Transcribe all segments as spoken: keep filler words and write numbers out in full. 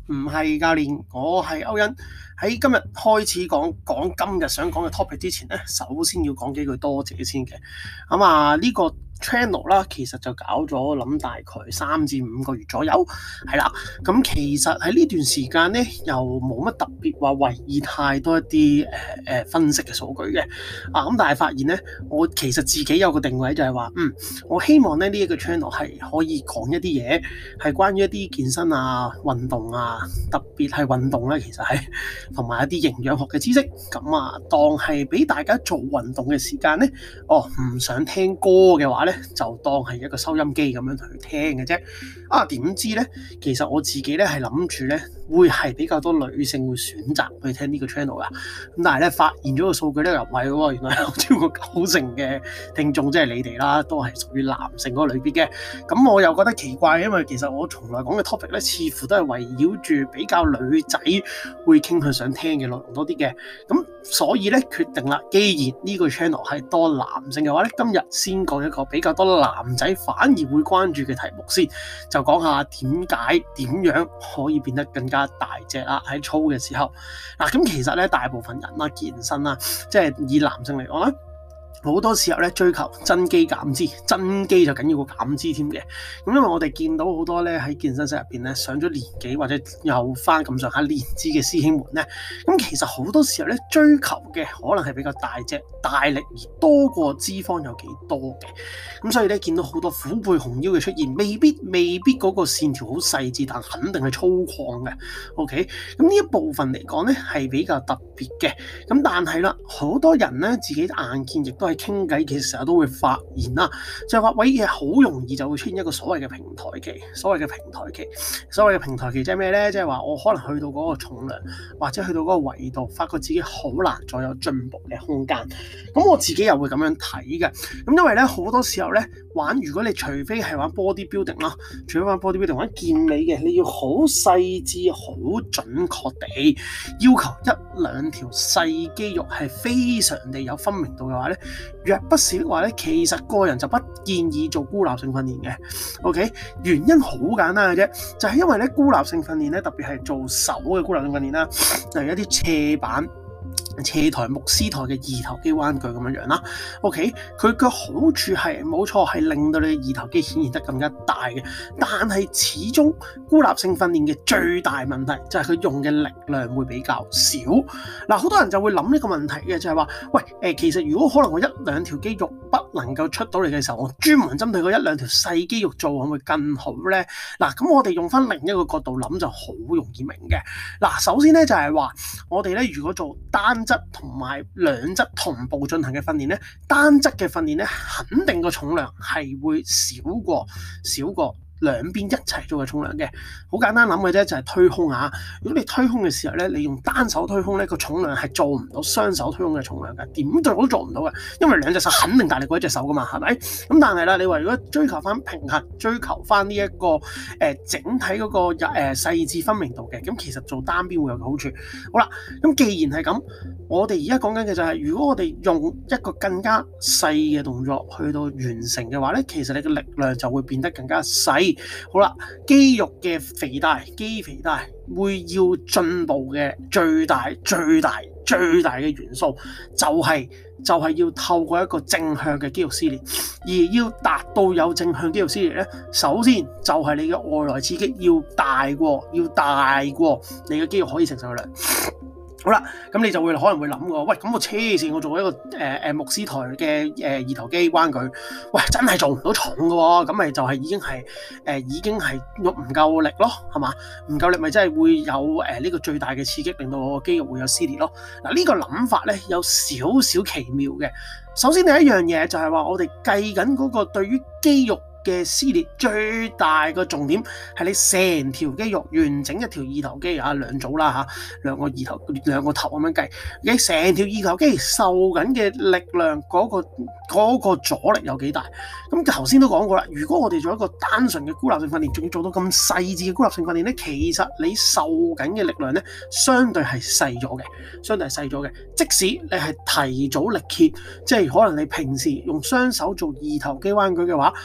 唔係教練，我係歐恩。喺今日開始講講今日想講嘅 topic 之前咧，首先要講幾句多謝先嘅。咁啊，呢個 channel 啦，其實就搞咗諗大概三至五個月左右，係啦。咁其實喺呢段時間咧，又冇乜特別話為意太多一啲誒誒分析嘅數據嘅。啊，咁但係發現咧，我其實自己有個定位就係話，嗯，我希望咧呢一個 channel 係可以講一啲嘢，係關於一啲健身啊、運動啊，特別係運動咧，其實係同埋一啲營養學嘅知識。咁啊，當係俾大家做運動嘅時間咧，哦，唔想聽歌嘅話咧，就當係一個收音機咁樣去聽嘅啫。啊，點知咧，其實我自己咧係諗住咧，會係比較多女性會選擇去聽呢個 channel 噶。咁但係咧，發現咗個數據咧又唔係喎，原來有超過九成嘅聽眾即係你哋啦，都係屬於男性嗰個類別嘅。咁我又覺得奇怪，因為其實我從來講嘅 topic 咧，似乎都係圍繞住比較女仔會傾向想聽嘅內容多啲嘅。咁所以咧，決定啦，既然呢個 channel 係多男性嘅話咧，今日先講一個比較多男仔反而會關注嘅題目先，就講下點解點樣可以變得更加大隻啦，喺操嘅時候。嗱，咁其實咧，大部分人啦，健身啦，即係以男性嚟講啦，好多時候咧，追求增肌減脂，增肌就緊要過減脂添嘅。咁因為我哋見到好多咧喺健身室入邊咧上咗年紀或者有翻咁上下年資嘅師兄們咧，咁其實好多時候咧追求嘅可能係比較大隻、大力而多過脂肪有幾多嘅。咁所以咧見到好多虎背熊腰嘅出現，未必未必嗰個線條好細緻，但肯定係粗獷嘅。OK，咁呢一部分嚟講咧係比較特別嘅。咁但係啦，好多人咧自己眼見亦都係傾偈，其實成日都會發現啦，就係話喂嘢好容易就會出現一個所謂嘅平台期。所謂嘅平台期，所謂嘅平台期即係咩咧？即係話我可能去到嗰個重量，或者去到嗰個維度，發覺自己好難再有進步嘅空間。咁我自己又會咁樣睇嘅。咁因為咧好多時候咧玩，如果你除非係玩 body building 啦，除非玩 body building 玩健美嘅，你要好細緻、好準確地要求一兩條細肌肉係非常地有分明度嘅話咧，若不是的話咧，其實個人就不建議做孤立性訓練嘅。OK， 原因好簡單嘅啫，就係因為咧孤立性訓練咧，特別係做手嘅孤立性訓練啦，例如一啲斜板、斜台、牧師台嘅二頭肌彎舉咁樣樣啦。OK， 佢嘅好處係冇錯，係令到你嘅二頭肌顯現得更加大嘅。但係始終孤立性訓練嘅最大問題就係佢用嘅力量會比較少。嗱，好多人就會諗呢個問題嘅，就係話，喂，誒，其實如果可能我一兩條肌肉不能夠出到嚟嘅時候，我專門針對嗰一兩條細肌肉做，會唔會更好咧？嗱，咁我哋用翻另一個角度諗就好容易明嘅。嗱，首先咧就係話，我哋咧如果做單側同埋兩側同步進行嘅訓練咧，單側嘅訓練咧，肯定個重量係會少過少過兩邊一齊做嘅重量嘅。好簡單諗嘅啫，就係推胸啊。如果你推胸嘅時候咧，你用單手推胸咧，個重量係做唔到雙手推胸嘅重量嘅，點做都做唔到嘅，因為兩隻手肯定大力過一隻手噶嘛，係咪？咁但係啦，你話如果追求翻平衡，追求翻呢一個誒、呃、整體嗰、那個誒、呃、細緻分明度嘅，咁其實做單邊會有個好處。好啦，咁既然係咁，我哋而家講緊嘅就係、是，如果我哋用一個更加細嘅動作去到完成嘅話咧，其實你嘅力量就會變得更加細。好啦，肌肉嘅肥大、肌肥大會要進步嘅最大、最大、最大嘅元素就係、是、就係、是、要透過一個正向嘅肌肉撕裂，而要達到有正向肌肉撕裂咧，首先就係你嘅外來刺激要大過，要大過你嘅肌肉可以承受嘅量。好啦，咁你就會可能會諗過，喂，咁我黐線，我做一個誒誒、呃、牧師台嘅誒、呃、二頭肌彎舉，喂，真係做唔到重嘅喎，咁咪就係已經係誒、呃、已經係用唔夠力咯，係嘛？唔夠力咪真係會有誒呢、呃這個最大嘅刺激，令到我個肌肉會有撕裂咯。嗱、這個、呢個諗法咧有少少奇妙嘅。首先第一樣嘢就係話，我哋計緊嗰個對於肌肉嘅撕裂最大個重點係你成條肌肉完整一條二頭肌啊，兩組啦嚇，兩個二頭兩個頭咁樣計，你成條二頭肌受緊嘅力量嗰、嗰個嗰、嗰個阻力有幾大？咁頭先都講過啦，如果我哋做一個單純嘅孤立性訓練，仲要做到咁細緻嘅孤立性訓練咧，其實你受緊嘅力量咧，相對係細咗嘅，相對係細咗嘅。即使你係提早力竭，即係可能你平時用雙手做二頭肌彎舉嘅話，可能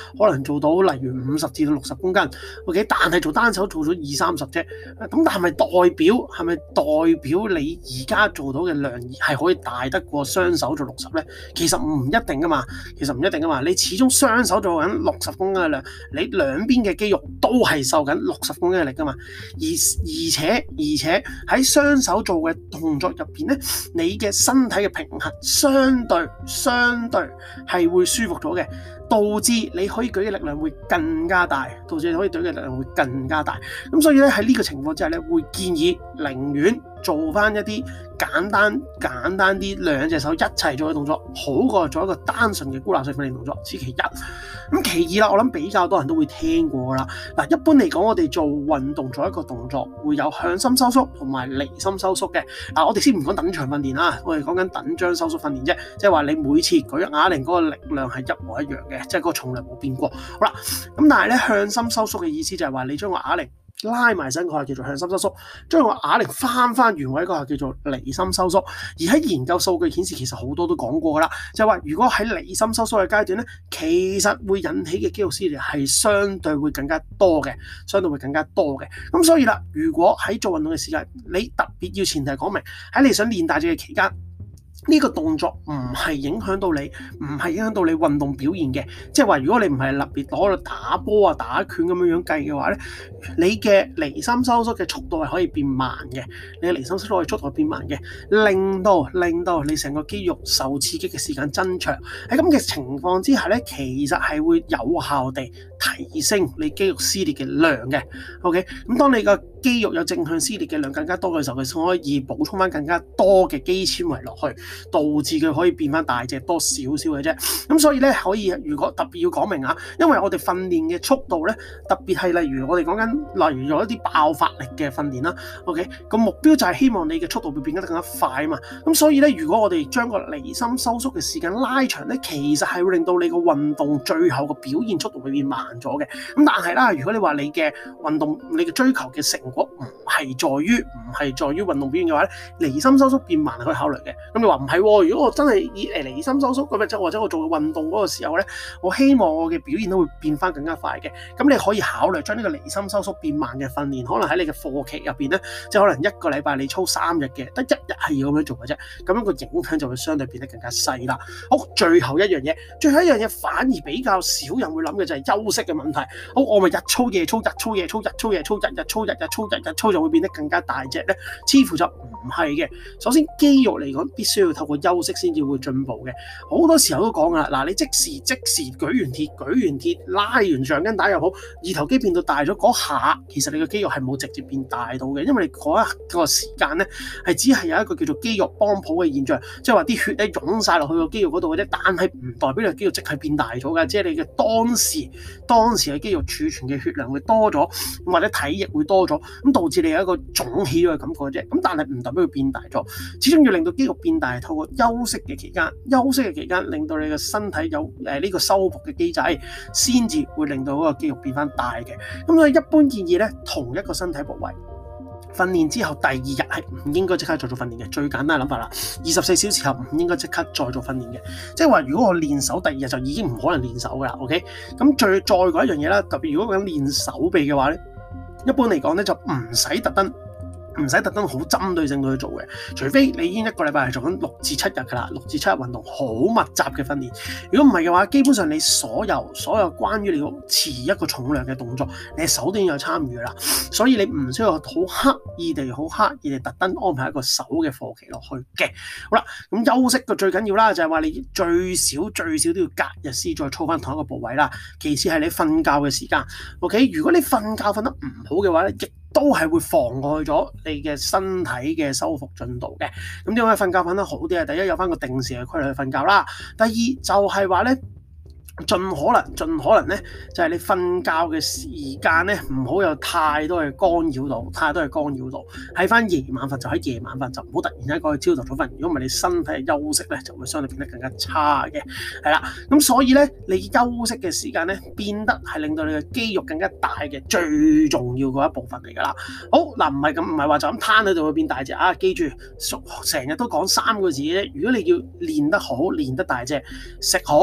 做到例如五十至到六十公斤 ，OK， 但係做單手做咗二三十啫。咁但係咪代表係咪代表你而家做到嘅量係可以大得過雙手做六十咧？其實唔一定噶嘛，其實唔一定噶嘛。你始終雙手做緊六十公斤嘅量，你兩邊嘅肌肉都係受緊六十公斤嘅力噶嘛。而而且而且喺雙手做嘅動作入邊咧，你嘅身體嘅平衡相對相對係會舒服咗嘅，導致你可以舉嘅力量會更加大，導致你可以舉嘅力量會更加大。咁所以咧喺呢個情況之下咧，會建議寧願做翻一啲簡單簡單啲兩隻手一齊做嘅動作，好過做一個單純嘅孤立式訓練動作。此其一。咁其二啦，我諗比較多人都會聽過啦。嗱，一般嚟講，我哋做運動做一個動作會有向心收縮同埋離心收縮嘅。嗱，我哋先唔講等長訓練啦，我哋講緊等張收縮訓練啫，即係話你每次舉啞鈴嗰個力量係一模一樣嘅，即係嗰個重量冇變過。好啦，咁但係咧向心收縮嘅意思就係話你將個啞鈴拉埋身嗰下叫做向心收縮，將個啞鈴翻翻原位嗰下叫做離心收縮。而喺研究數據顯示，其實好多都講過噶啦，就係話如果喺離心收縮嘅階段咧，其實會引起嘅肌肉撕裂係相對會更加多嘅，相對會更加多嘅。咁所以啦，如果喺做運動嘅時間，你特別要前提講明喺你想練大隻嘅期間，呢個動作唔係影響到你，唔係影響到你運動表現嘅。即係話，如果你唔係特別攞嚟打波啊、打拳咁樣樣計嘅話咧，你嘅離心收縮嘅速度係可以變慢嘅，你嘅離心收縮嘅速度係變慢嘅，令到令到你成個肌肉受刺激嘅時間增長。喺咁嘅情況之下咧，其實係會有效地提升你肌肉撕裂嘅量嘅。OK， 咁當你個肌肉有正向撕裂嘅量更加多嘅時候，佢可以補充翻更加多嘅肌纖維落去，導致佢可以變翻大隻多少少嘅啫。咁所以咧，可以如果特別要講明啊，因為我哋訓練嘅速度咧，特別係例如我哋講緊，例如有一啲爆發力嘅訓練啦。OK， 個目標就係希望你嘅速度會變得更加快啊嘛。咁所以咧，如果我哋將個離心收縮嘅時間拉長咧，其實係會令到你個運動最後個表現速度會變慢咗嘅。咁但係啦，如果你話你嘅運動你嘅追求嘅成果唔係在於唔係在於運動表現嘅話咧，離心收縮變慢係可以考慮嘅。咁你話唔係喎？如果我真係以誒離心收縮咁樣，或者我做運動嗰個時候咧，我希望我嘅表現都會變翻更加快嘅。咁你可以考慮將呢個離心收縮變慢嘅訓練，可能喺你嘅課期入邊咧，即係可能一個禮拜你操三日嘅，得一日係要咁樣做嘅啫。咁樣個影響就會相對變得更加細啦。好，最後一樣嘢，最後一樣嘢反而比較少人會諗嘅就係休息嘅問題。好，我咪日操夜操，日操夜操，日操夜操，日日操，日日操，日日操就會變得更加大隻咧？似乎就唔係嘅。首先肌肉嚟講，必須要透過休息先至會進步嘅。好多時候都講噶啦，嗱，你即時即時舉完鐵，舉完鐵拉完橡筋帶又好，二頭肌變到大咗嗰下，其實你個肌肉係冇直接變大到嘅，因為你嗰一個時間咧係只係有一個叫做肌肉幫補嘅現象，即係話啲血咧湧晒落去個肌肉嗰度嘅啫，但係唔代表你個肌肉即係變大咗嘅，即係你嘅當時當時嘅肌肉儲存嘅血量會多咗，或者體液會多咗，咁導致你有一個腫起咗嘅感覺啫。咁但係唔代表佢變大咗，始終要令到肌肉變大，透過休息嘅期間，休息嘅期間令到你嘅身體有誒呢個修復嘅機制，先至會令到嗰個肌肉變翻大嘅。咁所以一般建議咧，同一個身體部位訓練之後第二日係唔應該即刻再做訓練嘅。最簡單嘅諗法啦，二十四小時後唔應該即刻再做訓練嘅。即係話如果我練手第二日就已經唔可能練手噶啦。OK， 咁最再講一樣嘢啦，特別如果講練手臂嘅話咧，一般嚟講咧就唔使特登。唔使特登好針對性去做嘅，除非你已經一個禮拜係做緊六至七日㗎啦，六至七日運動好密集嘅訓練。如果唔係嘅話，基本上你所有所有關於你要持一個重量嘅動作，你手都已經有參與㗎啦。所以你唔需要好刻意地、好刻意地特登安排一個手嘅課期落去嘅。好啦，咁休息嘅最緊要啦，就係話你最少最少都要隔日先再操翻同一個部位啦。其次係你瞓覺嘅時間。OK， 如果你瞓覺瞓得唔好嘅話咧，亦都係會妨礙咗你嘅身體嘅修復進度嘅。咁點解瞓覺瞓得好啲啊？第一，有翻個定時嘅規律去瞓覺啦。第二就係話咧，盡可能盡可能咧，就係你瞓覺嘅時間咧，唔好有太多嘅干擾到，太多嘅干擾到。喺翻夜晚瞓就喺夜晚瞓，就唔好突然間過去朝頭早瞓。如果唔係，你身體嘅休息咧就會相對變得更加差嘅。係啦，咁所以咧，你休息嘅時間咧變得係令到你嘅肌肉更加大嘅最重要嗰一部分嚟㗎啦。好嗱，唔係咁，唔係話就咁攤喺度會變大隻啊！記住，成日都講三個字嘅啫。如果你要練得好、練得大隻，食好。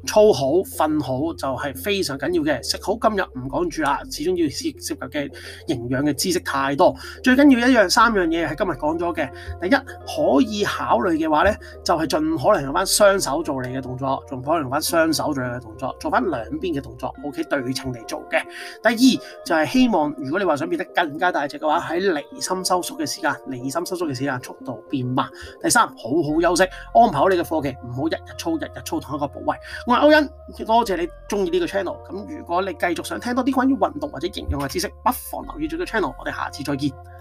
操好、瞓好就係非常緊要嘅。食好今日唔講住啦，始終要涉涉及嘅營養嘅知識太多。最緊要一樣三樣嘢係今日講咗嘅。第一，可以考慮嘅話咧，就係、是、盡可能用翻雙手做你嘅動作，盡可能用翻雙手做你嘅動作，做翻兩邊嘅動作 ，OK 對稱嚟做嘅。第二就係、是、希望，如果你話想變得更加大隻嘅話，喺離心收縮嘅時間，離心收縮嘅時間速度變慢。第三，好好休息，安排好你嘅課期，唔好日日操日日操同一個部位。我係歐恩，多謝你中意呢個 channel。咁如果你繼續想聽多啲關於運動或者營養嘅知識，不妨留意住個 channel。我哋下次再見。